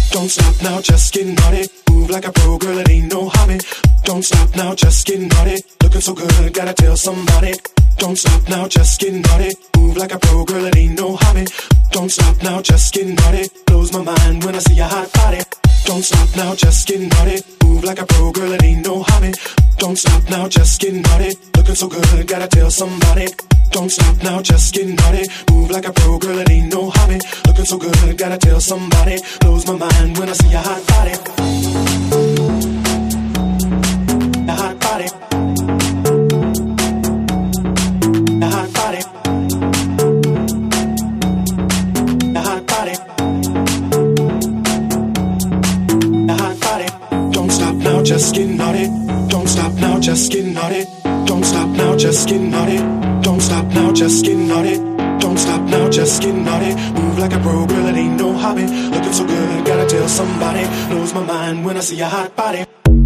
Don't stop now, just get naughty. Move like a pro, girl, it ain't no hobby. Don't stop now, just get naughty. Looking so good, gotta tell somebody. Don't stop now, just get naughty. Move like a pro, girl, it ain't no hobby. Don't stop now, just get naughty. Blows my mind when I see your hot body. Don't stop now, just get naughty. Move like a pro, girl, it ain't no hobby. Don't stop now, just get naughty. Looking so good, gotta tell somebody. Don't stop now, just get naughty. Move like a pro, girl, it ain't no hobby. Looking so good, gotta tell somebody. Blows my mind when I see your hot body. The hot body. The hot body. The hot body. The hot body. Don't stop now, just get naughty. Don't stop now, just get naughty. Don't stop now, just get naughty. Don't stop now, just get naughty. Don't stop now, just get naughty. Move like a pro, girl, it ain't no hobby. Looking so good, gotta tell somebody. Blows my mind when I see your hot body.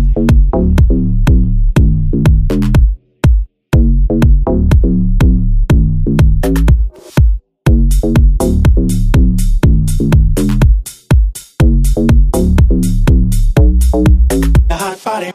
The hot body.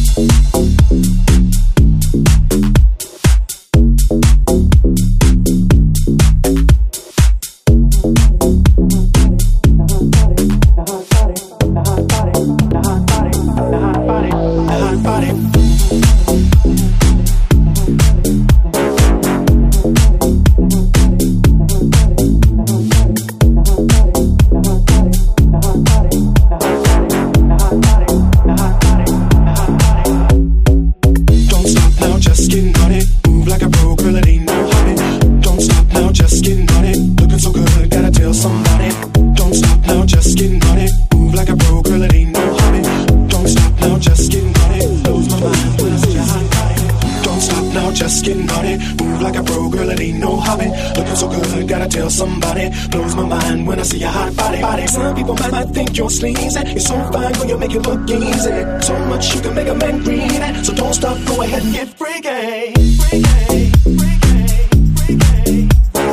Just get naughty, move like a pro, girl, it ain't no hobby. Looking so good, gotta tell somebody. Blows my mind when I see your hot body. Some people might think you're sleazy. You're so fine, girl, you make it look easy. So much you can make a man greedy. So don't stop, go ahead and get freaky. Freaky, freaky,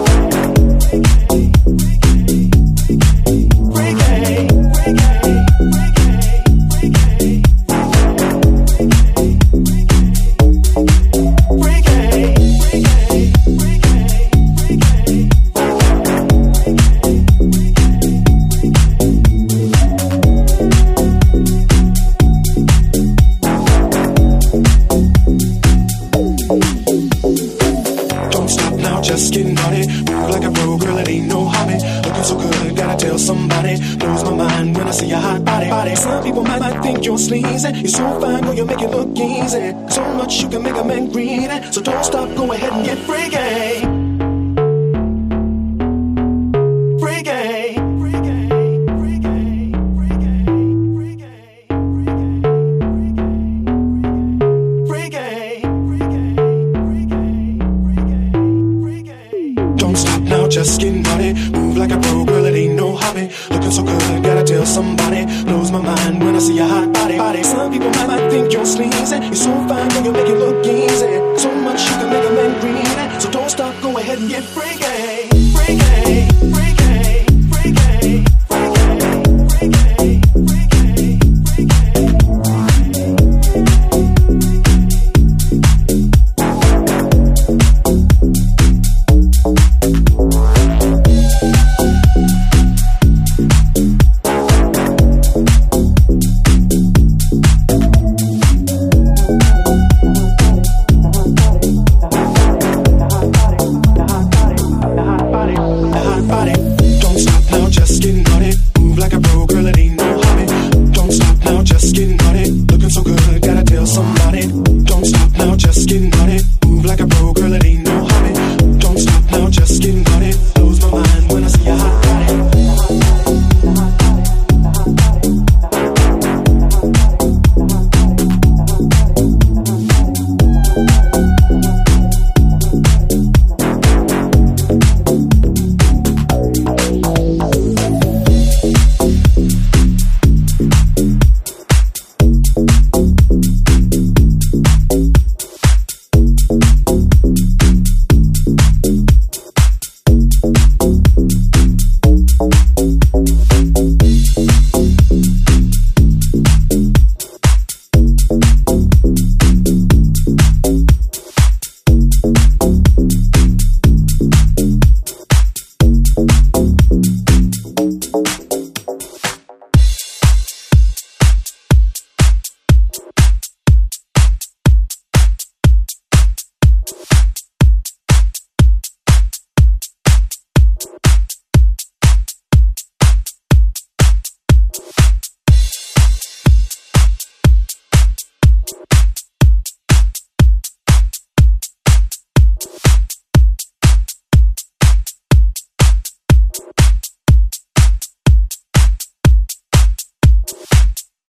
just get naughty, move like a pro, girl, it ain't no hobby. Looking so good, gotta tell somebody. Blows my mind when I see your hot body. Some people might think you're sleazy. You're so fine, girl, you make it look easy. So much you can make a man greedy. So don't stop, go ahead and get freaky. Freaky. Just get naughty, move like a pro, girl, it ain't no hobby. Looking so good, gotta tell somebody. Blows my mind when I see your hot body. Some people might think you're sleazy. You're so fine, girl, you make it look easy. So much you can make a man greedy. So don't stop, go ahead and get freaky.